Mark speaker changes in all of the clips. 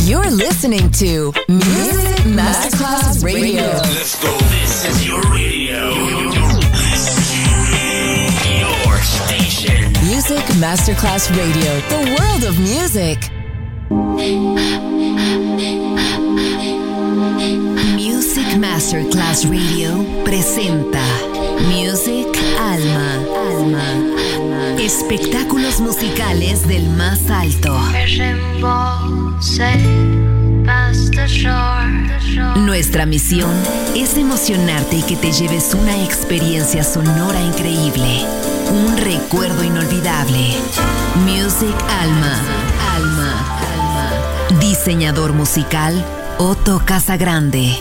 Speaker 1: You're listening to Music Masterclass Radio.
Speaker 2: Let's go. This is your radio. Your station.
Speaker 1: Music Masterclass Radio. The world of music.
Speaker 3: Music Masterclass Radio presenta Music Alma. Espectáculos musicales del más alto. Nuestra misión es emocionarte y que te lleves una experiencia sonora increíble, un recuerdo inolvidable. Music Alma. Diseñador musical Otto Casagrande.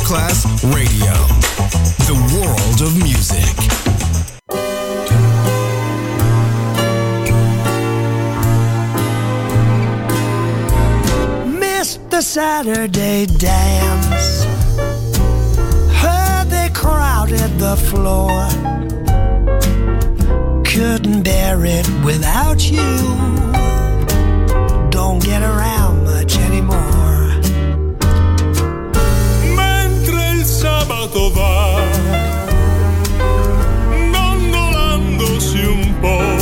Speaker 4: Masterclass Radio, the world of music.
Speaker 5: Missed the Saturday dance, heard they crowded the floor, couldn't bear it without you, don't get around much anymore.
Speaker 6: Mentre il sabato va dondolandosi un po',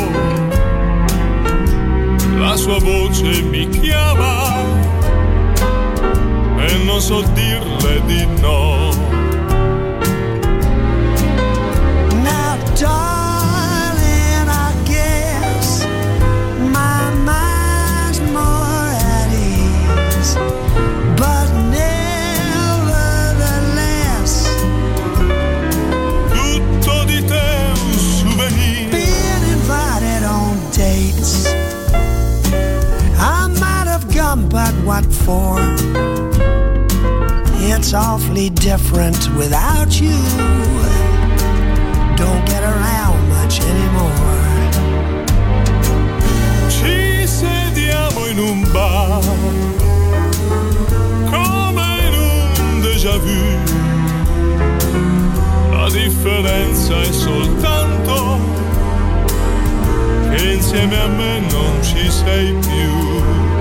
Speaker 6: la sua voce mi chiama e non so dirle di no.
Speaker 5: Now darling, I guess my mind's more at ease, but nevertheless
Speaker 6: Tutto di te un souvenir.
Speaker 5: being invited on dates, I might have gone, but what for? It's awfully different without you, don't get around much anymore.
Speaker 6: Ci sediamo in un bar come in un déjà vu. La differenza è soltanto che insieme a me non ci sei più.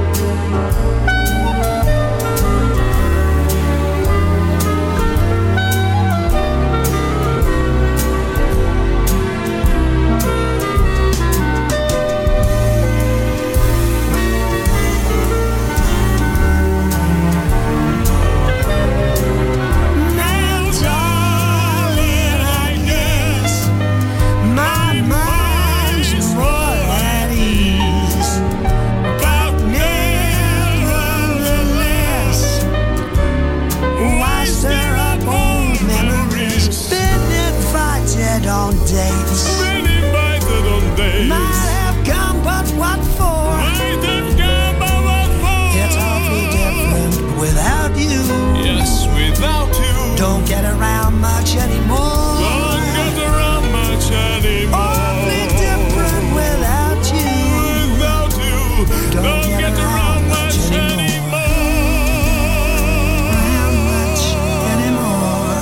Speaker 5: Now darling, I guess my mind's more at ease, but nevertheless, why stir up old memories? Been invited on dates,
Speaker 6: Been invited on dates.
Speaker 5: might have come, but what for?
Speaker 6: Might have come, but what for?
Speaker 5: It's awfully different without you,
Speaker 6: Yes, without you.
Speaker 5: don't get around much anymore.
Speaker 6: Don't get around much anymore.
Speaker 5: Awfully different without you,
Speaker 6: Without you, don't get around much anymore.
Speaker 5: around much anymore.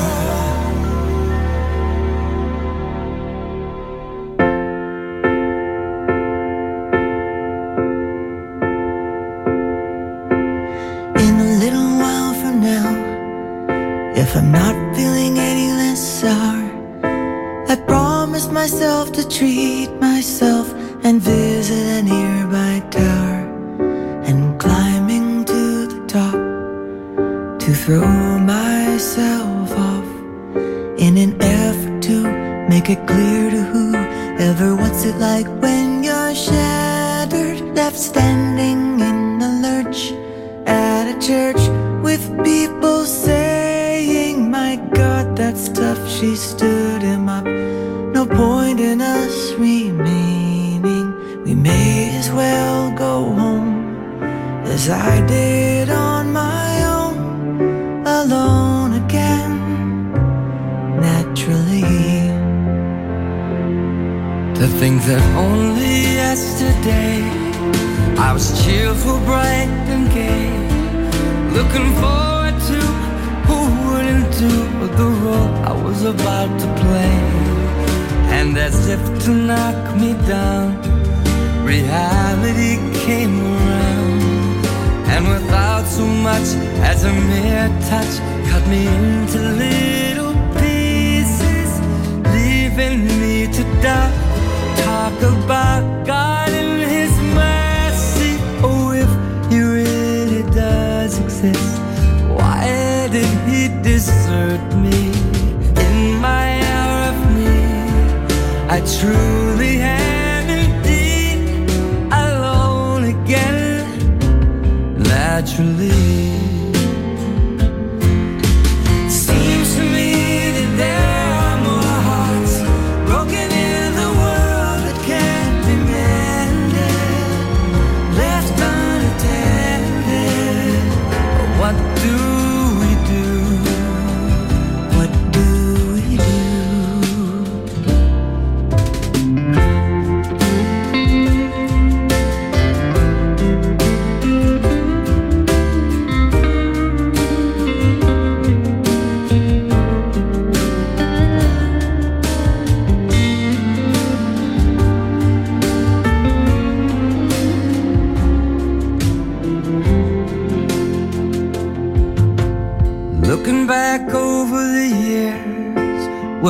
Speaker 7: In a little while from now, if I'm not feeling any less sour, I promised myself to treat myself and visit a nearby tower, and climbing to the top to throw myself off in an effort to make it clear to whoever what's it like when you're shattered, left standing in the lurch at a church with people saying, my God, that's tough, she stood him up. No point in us remaining, we may as well go home, as I did on my own, alone again, naturally. To think that only yesterday I was cheerful, bright and gay, looking forward to who wouldn't do the role I was about to play. And as if to knock me down, reality came around, and without so much as a mere touch, cut me into little pieces, leaving me to die. Talk about God and His mercy. Oh, if He really does exist, why did He desert me in my hour of need? I truly am indeed alone again, naturally. Seems to me that there are more hearts broken in the world that can't be mended, left unattended. What do we do?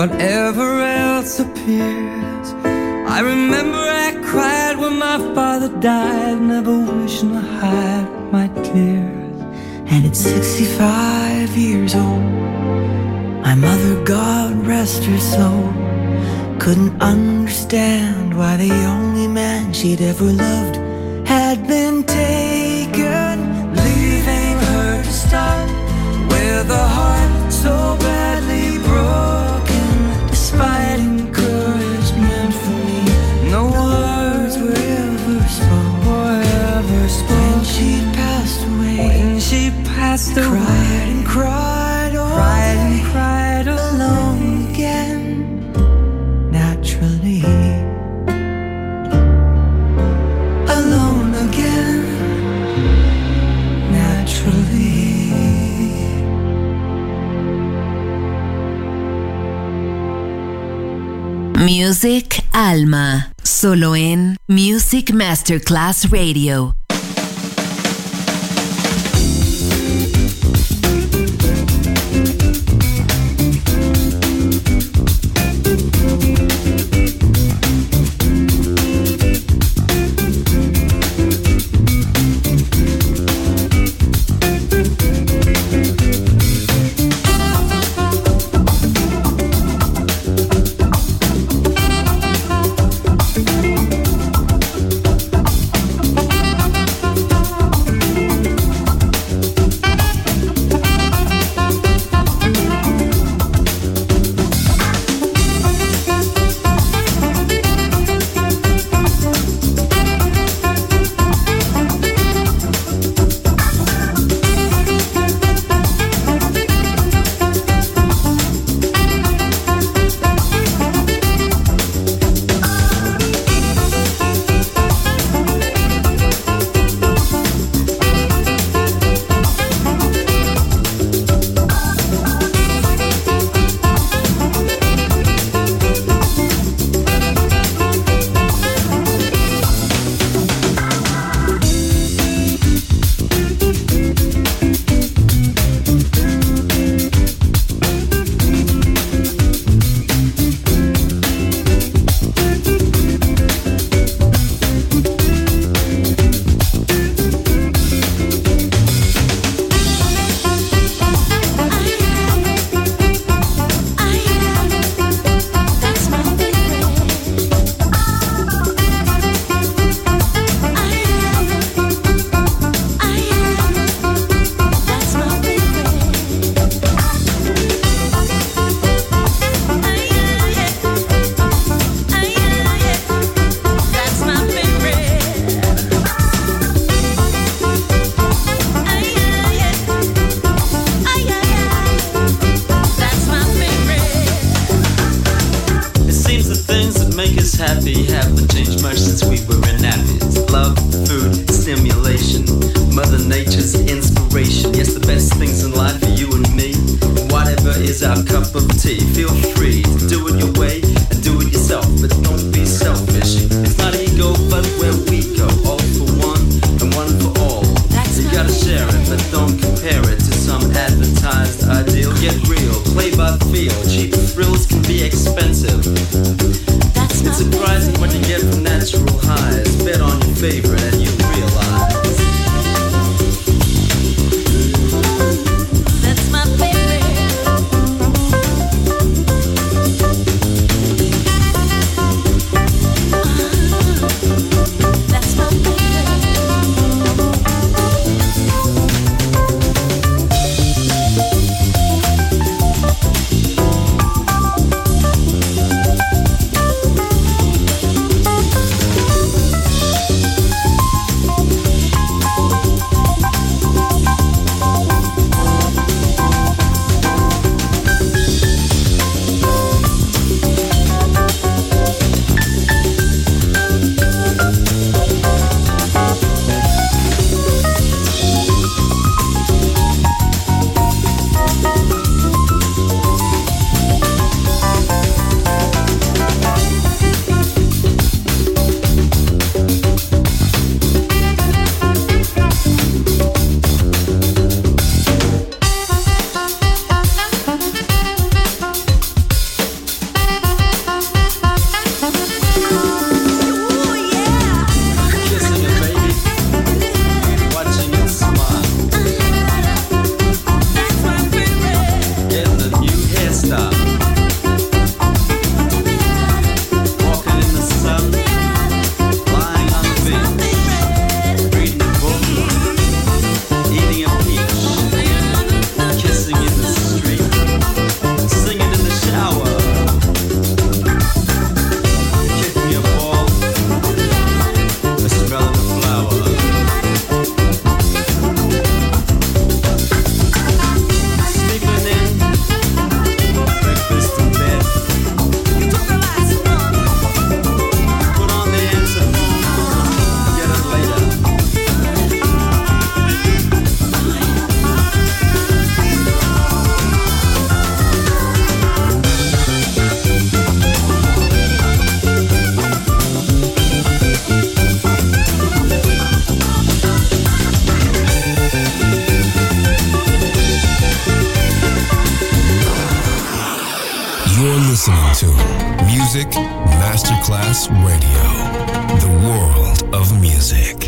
Speaker 7: whatever else appears. I remember I cried when my father died, never wishing to hide my tears. And at 65 years old, my mother, God rest her soul, couldn't understand why the only man she'd ever loved had been taken, leaving her to start with a heart so badly broken. Despite encouragement from me, no words were ever spoken. When she passed away, cried and cried, alone again, naturally. Alone again, naturally.
Speaker 3: Music Alma, solo en Music Masterclass Radio.
Speaker 4: Masterclass Radio, the world of music.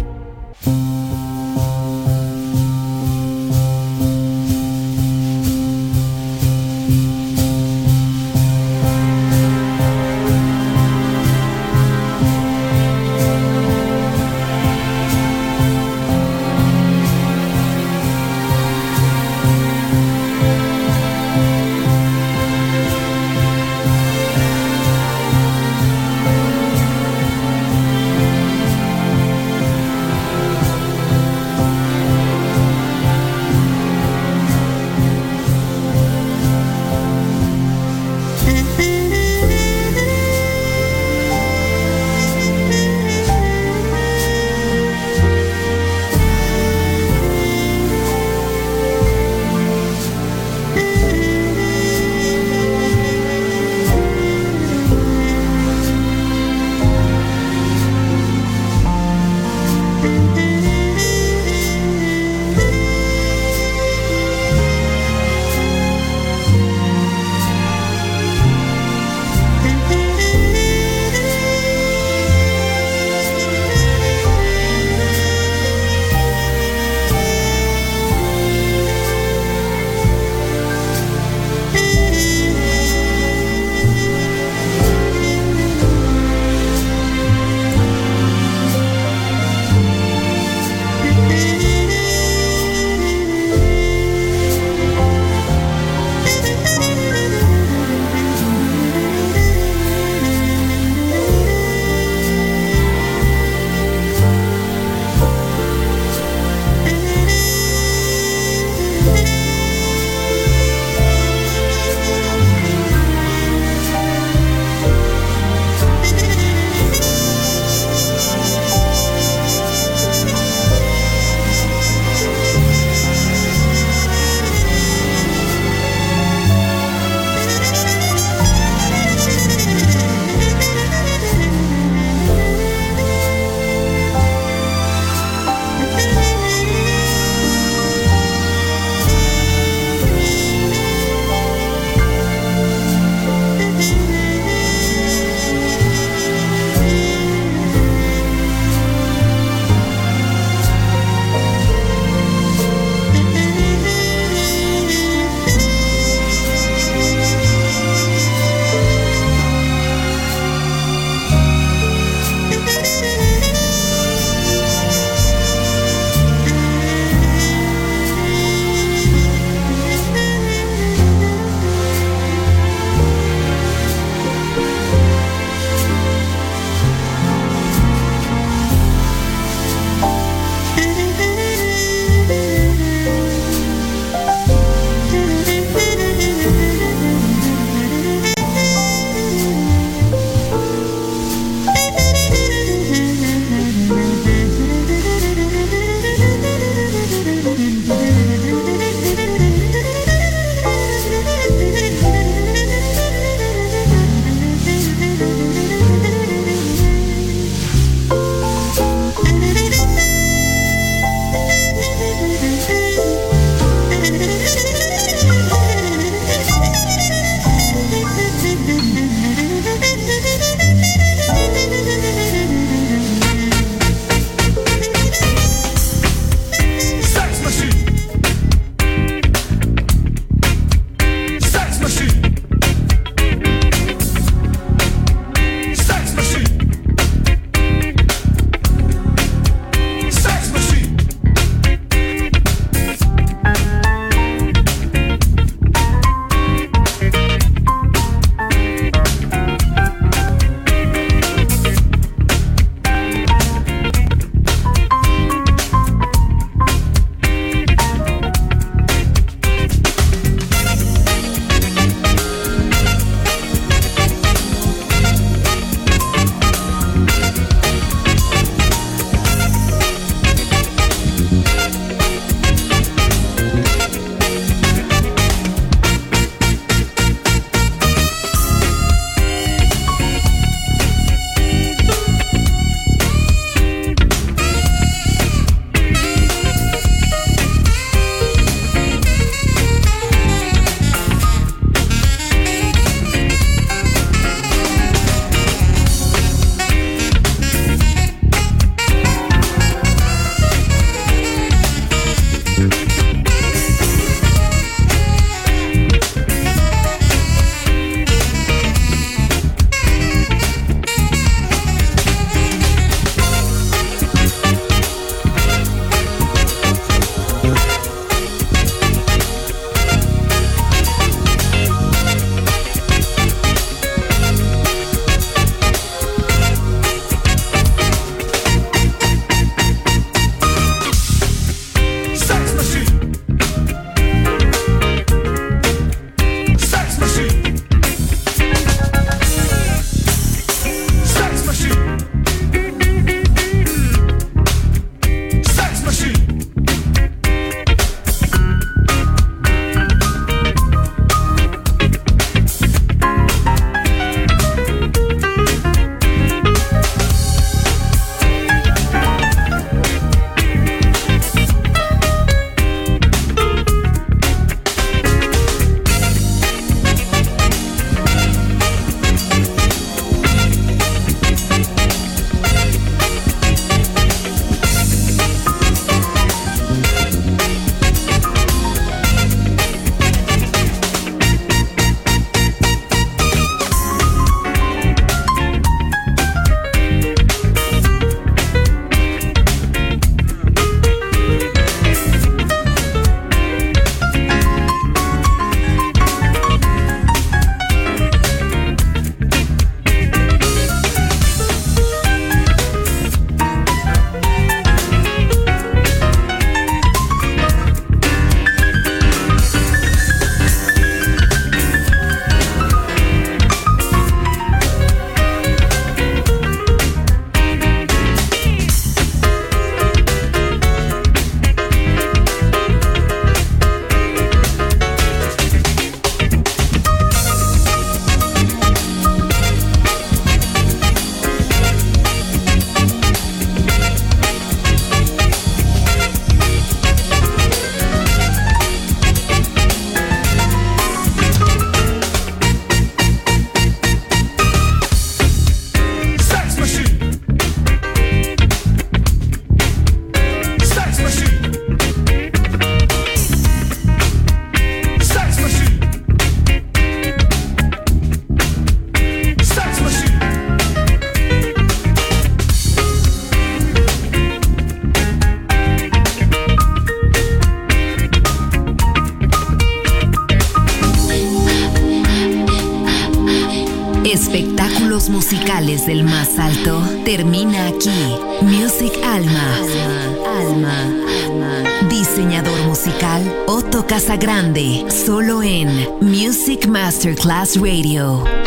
Speaker 3: espectáculos musicales del más alto termina aquí. Music Alma. Diseñador musical Otto Casagrande, solo en Music Masterclass Radio.